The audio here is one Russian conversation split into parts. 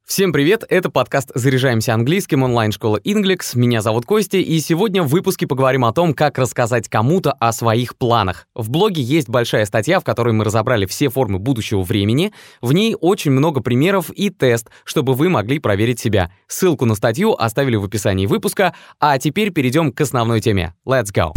Всем привет, это подкаст «Заряжаемся английским» онлайн-школы Inglix. Меня зовут Костя, и сегодня в выпуске поговорим о том, как рассказать кому-то о своих планах. В блоге есть большая статья, в которой мы разобрали все формы будущего времени. В ней очень много примеров и тест, чтобы вы могли проверить себя. Ссылку на статью оставили в описании выпуска, а теперь перейдем к основной теме. Let's go!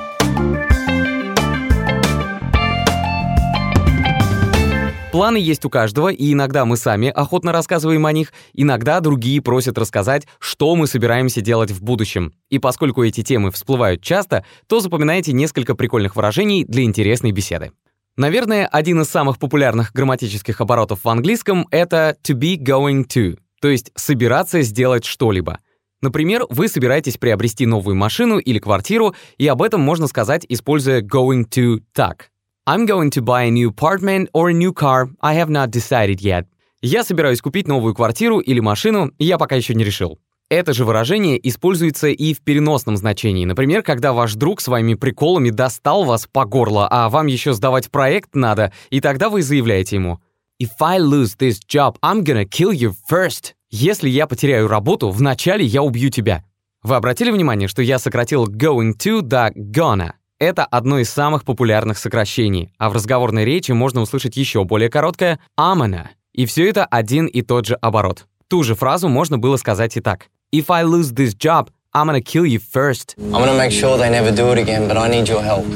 Планы есть у каждого, и иногда мы сами охотно рассказываем о них, иногда другие просят рассказать, что мы собираемся делать в будущем. И поскольку эти темы всплывают часто, то запоминайте несколько прикольных выражений для интересной беседы. Наверное, один из самых популярных грамматических оборотов в английском — это to be going to, то есть собираться сделать что-либо. Например, вы собираетесь приобрести новую машину или квартиру, и об этом можно сказать, используя going to так. I'm going to buy a new apartment or a new car. I have not decided yet. Я собираюсь купить новую квартиру или машину, я пока еще не решил. Это же выражение используется и в переносном значении. Например, когда ваш друг своими приколами достал вас по горло, а вам еще сдавать проект надо, и тогда вы заявляете ему: If I lose this job, I'm gonna kill you first. Если я потеряю работу, вначале я убью тебя. Вы обратили внимание, что я сократил going to до gonna? Это одно из самых популярных сокращений, а в разговорной речи можно услышать еще более короткое I'm gonna. И все это один и тот же оборот. Ту же фразу можно было сказать и так. If I lose this job, I'm gonna kill you first. I'm gonna make sure they never do it again, but I need your help.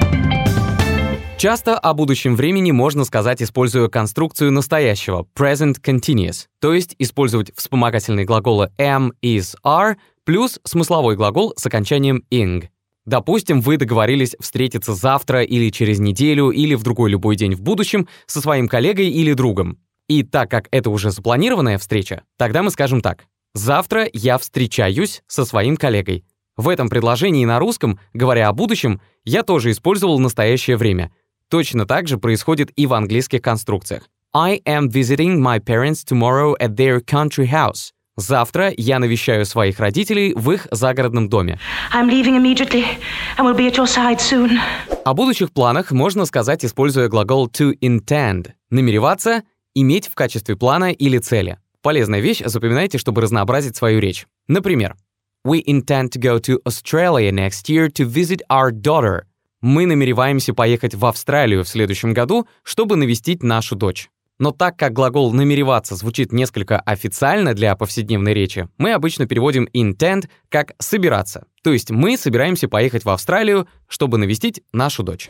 Часто о будущем времени можно сказать, используя конструкцию настоящего present continuous, то есть использовать вспомогательные глаголы am, is, are плюс смысловой глагол с окончанием ing. Допустим, вы договорились встретиться завтра или через неделю или в другой любой день в будущем со своим коллегой или другом. И так как это уже запланированная встреча, тогда мы скажем так. Завтра я встречаюсь со своим коллегой. В этом предложении на русском, говоря о будущем, я тоже использовал настоящее время. Точно так же происходит и в английских конструкциях. I am visiting my parents tomorrow at their country house. Завтра я навещаю своих родителей в их загородном доме. I'm leaving immediately and will be at your side soon. О будущих планах можно сказать, используя глагол to intend. Намереваться, иметь в качестве плана или цели. Полезная вещь, запоминайте, чтобы разнообразить свою речь. Например, We intend to go to Australia next year to visit our daughter. Мы намереваемся поехать в Австралию в следующем году, чтобы навестить нашу дочь. Но так как глагол «намереваться» звучит несколько официально для повседневной речи, мы обычно переводим intend как «собираться». То есть мы собираемся поехать в Австралию, чтобы навестить нашу дочь.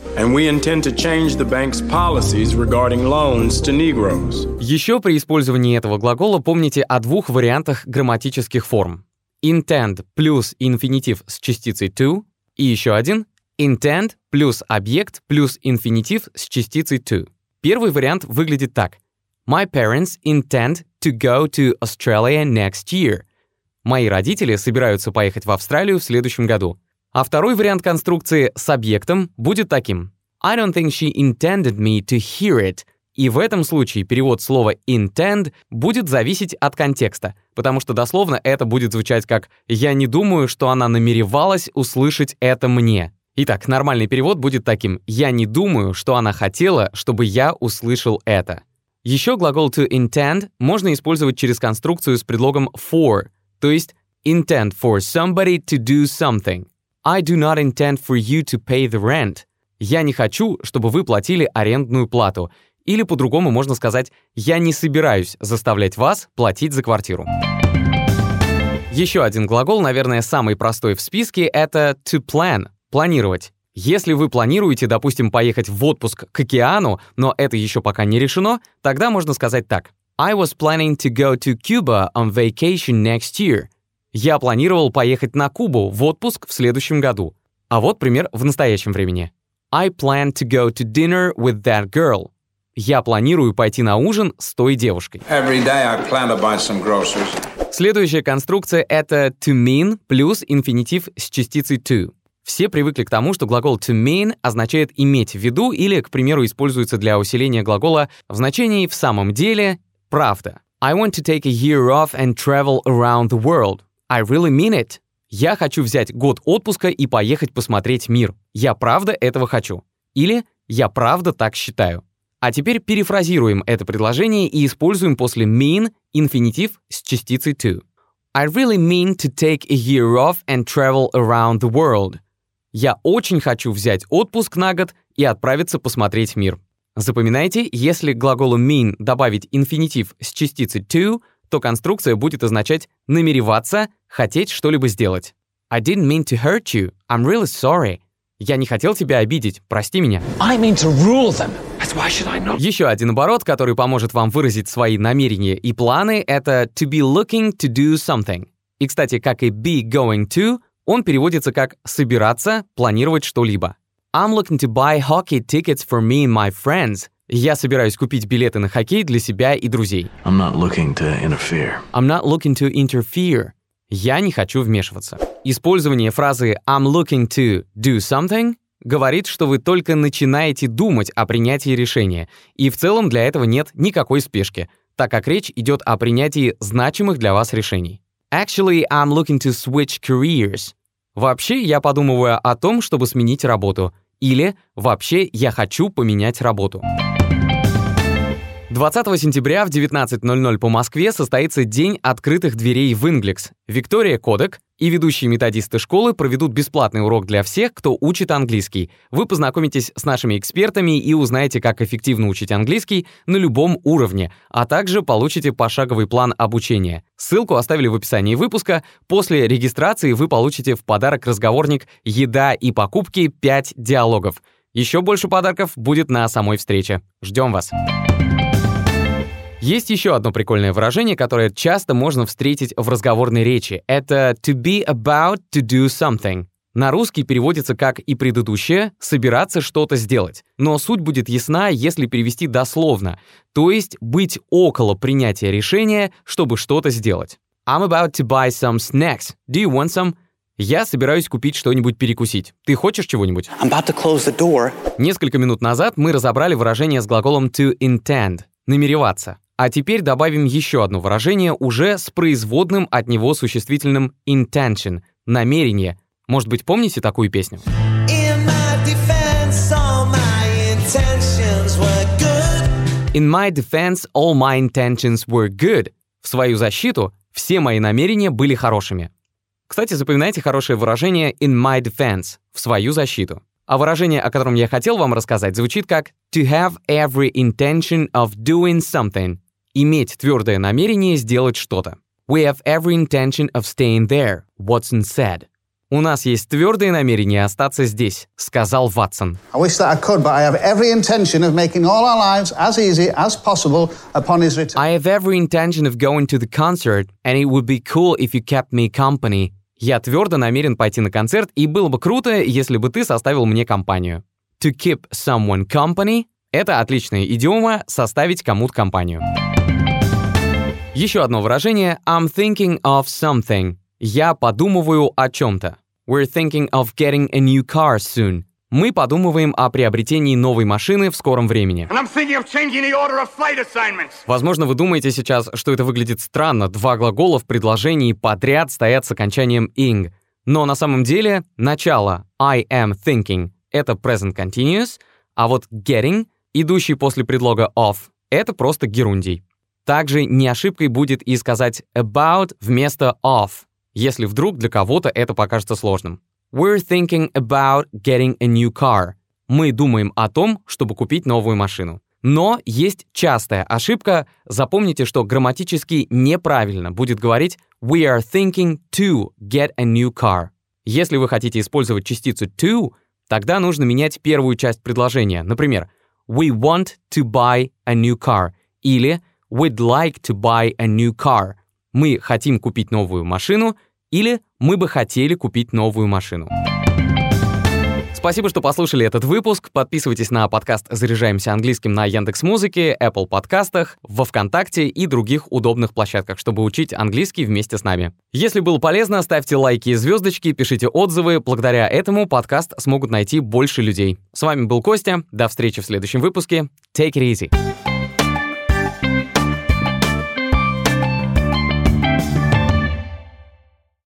Еще при использовании этого глагола помните о двух вариантах грамматических форм. Intend плюс инфинитив с частицей to, и еще один intend плюс объект плюс инфинитив с частицей to. Первый вариант выглядит так. My parents intend to go to Australia next year. Мои родители собираются поехать в Австралию в следующем году. А второй вариант конструкции с объектом будет таким. I don't think she intended me to hear it. И в этом случае перевод слова intend будет зависеть от контекста, потому что дословно это будет звучать как «я не думаю, что она намеревалась услышать это мне». Итак, нормальный перевод будет таким: «Я не думаю, что она хотела, чтобы я услышал это». Еще глагол to intend можно использовать через конструкцию с предлогом for, то есть intend for somebody to do something. I do not intend for you to pay the rent. Я не хочу, чтобы вы платили арендную плату. Или по-другому можно сказать «я не собираюсь заставлять вас платить за квартиру». Еще один глагол, наверное, самый простой в списке, это to plan. Планировать. Если вы планируете, допустим, поехать в отпуск к океану, но это еще пока не решено, тогда можно сказать так. I was planning to go to Cuba on vacation next year. Я планировал поехать на Кубу в отпуск в следующем году. А вот пример в настоящем времени. I plan to go to dinner with that girl. Я планирую пойти на ужин с той девушкой. Every day I plan to buy some groceries. Следующая конструкция — это to mean плюс инфинитив с частицей to. Все привыкли к тому, что глагол to mean означает иметь в виду или, к примеру, используется для усиления глагола в значении в самом деле правда. I want to take a year off and travel around the world. I really mean it. Я хочу взять год отпуска и поехать посмотреть мир. Я правда этого хочу. Или я правда так считаю. А теперь перефразируем это предложение и используем после mean инфинитив с частицей to. I really mean to take a year off and travel around the world. Я очень хочу взять отпуск на год и отправиться посмотреть мир. Запоминайте, если к глаголу mean добавить инфинитив с частицей to, то конструкция будет означать намереваться, хотеть что-либо сделать. I didn't mean to hurt you. I'm really sorry. Я не хотел тебя обидеть, прости меня. I mean to rule them. Why should I not? Еще один оборот, который поможет вам выразить свои намерения и планы, это to be looking to do something. И, кстати, как и be going to, он переводится как собираться, планировать что-либо. I'm looking to buy hockey tickets for me and my friends. Я собираюсь купить билеты на хоккей для себя и друзей. I'm not looking to interfere. I'm not looking to interfere. Я не хочу вмешиваться. Использование фразы I'm looking to do something говорит, что вы только начинаете думать о принятии решения, и в целом для этого нет никакой спешки, так как речь идет о принятии значимых для вас решений. Actually, I'm looking to switch careers. Вообще, я подумываю о том, чтобы сменить работу. Или вообще, я хочу поменять работу. 20 сентября в 19:00 по Москве состоится День открытых дверей в Inglex. Виктория Кодек и ведущие методисты школы проведут бесплатный урок для всех, кто учит английский. Вы познакомитесь с нашими экспертами и узнаете, как эффективно учить английский на любом уровне, а также получите пошаговый план обучения. Ссылку оставили в описании выпуска. После регистрации вы получите в подарок разговорник «Еда и покупки. 5 диалогов». Еще больше подарков будет на самой встрече. Ждем вас! Есть еще одно прикольное выражение, которое часто можно встретить в разговорной речи. Это to be about to do something. На русский переводится как и предыдущее «собираться что-то сделать». Но суть будет ясна, если перевести дословно, то есть быть около принятия решения, чтобы что-то сделать. I'm about to buy some snacks. Do you want some? Я собираюсь купить что-нибудь перекусить. Ты хочешь чего-нибудь? I'm about to close the door. Несколько минут назад мы разобрали выражение с глаголом to intend — намереваться. А теперь добавим еще одно выражение уже с производным от него существительным intention — намерение. Может быть, помните такую песню? In my defense, all my intentions were good. В свою защиту все мои намерения были хорошими. Кстати, запоминайте хорошее выражение in my defense — в свою защиту. А выражение, о котором я хотел вам рассказать, звучит как to have every intention of doing something. Иметь твердое намерение сделать что-то. We have every intention of staying there, Watson said. У нас есть твердое намерение остаться здесь, сказал Ватсон. I wish that I could, but I have every intention of making all our lives as easy as possible upon his return. I have every intention of going to the concert, and it would be cool if you kept me company. Я твердо намерен пойти на концерт, и было бы круто, если бы ты составил мне компанию. To keep someone company — это отличная идиома составить кому-то компанию. Еще одно выражение I'm thinking of something. Я подумываю о чем-то. We're thinking of getting a new car soon. Мы подумываем о приобретении новой машины в скором времени. Возможно, вы думаете сейчас, что это выглядит странно. Два глагола в предложении подряд стоят с окончанием ing. Но на самом деле начало I am thinking — это present continuous, а вот getting, идущий после предлога of, это просто герундий. Также не ошибкой будет и сказать about вместо of, если вдруг для кого-то это покажется сложным. We're thinking about getting a new car. Мы думаем о том, чтобы купить новую машину. Но есть частая ошибка. Запомните, что грамматически неправильно будет говорить we are thinking to get a new car. Если вы хотите использовать частицу to, тогда нужно менять первую часть предложения. Например, we want to buy a new car или we'd like to buy a new car. Мы хотим купить новую машину или мы бы хотели купить новую машину. Спасибо, что послушали этот выпуск. Подписывайтесь на подкаст «Заряжаемся английским» на Яндекс.Музыке, Apple подкастах, во ВКонтакте и других удобных площадках, чтобы учить английский вместе с нами. Если было полезно, ставьте лайки и звездочки, пишите отзывы. Благодаря этому подкаст смогут найти больше людей. С вами был Костя. До встречи в следующем выпуске. Take it easy.